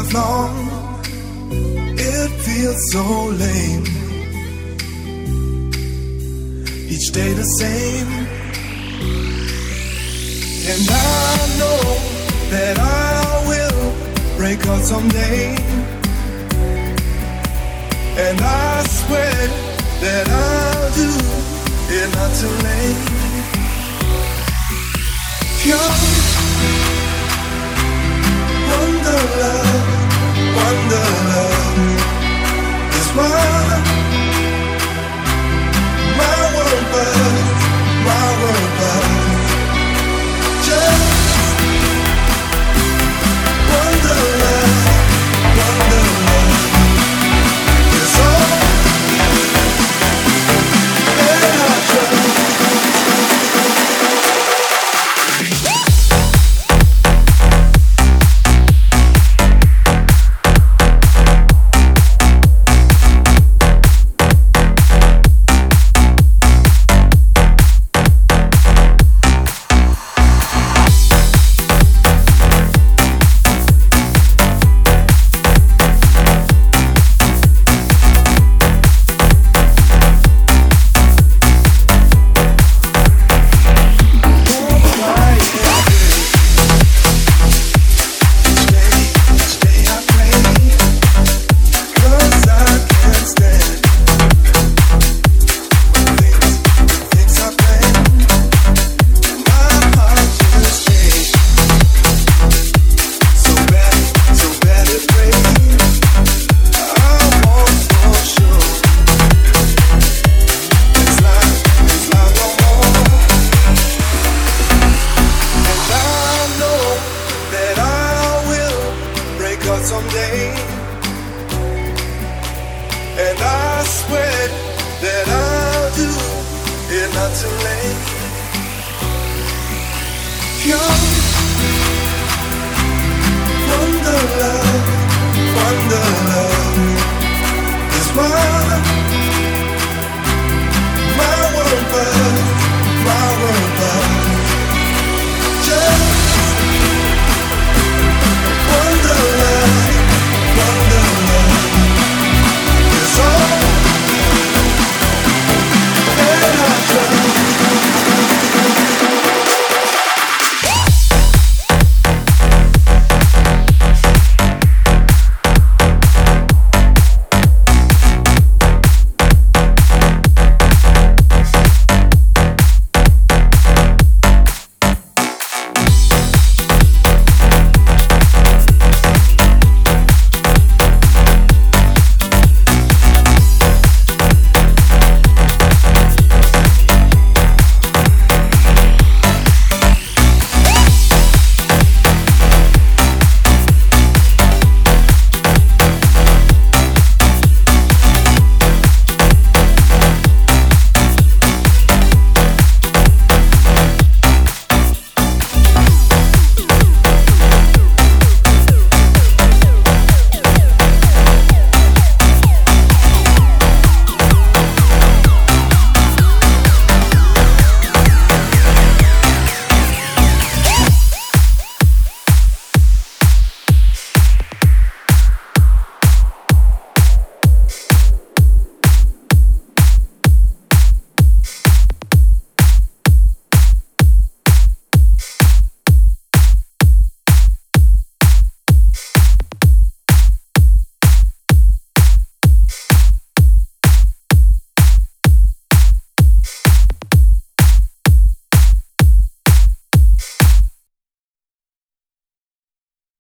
lifelong. It feels so lame. Each day the same. And I know that I will break out someday. And I swear that I'll do it not too late. Young wonder love is what my world was. Just wonder love is all that I trust. Someday, and I swear that I'll do it not too late. Young wonder love is what my world was.